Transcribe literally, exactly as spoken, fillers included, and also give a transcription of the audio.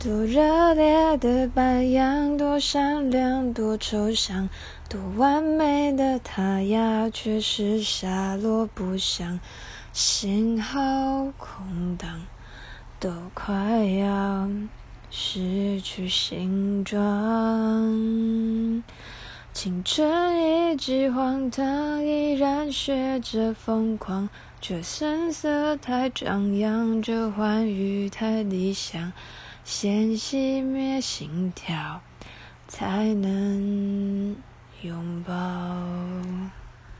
多热烈的白羊，多闪亮，多抽象，多完美的他呀，却是下落不详。信号空档，都快要失去形状。青春一直荒唐，依然学着疯狂，这声色太张扬，这欢愉太理想。先熄灭心跳，才能拥抱。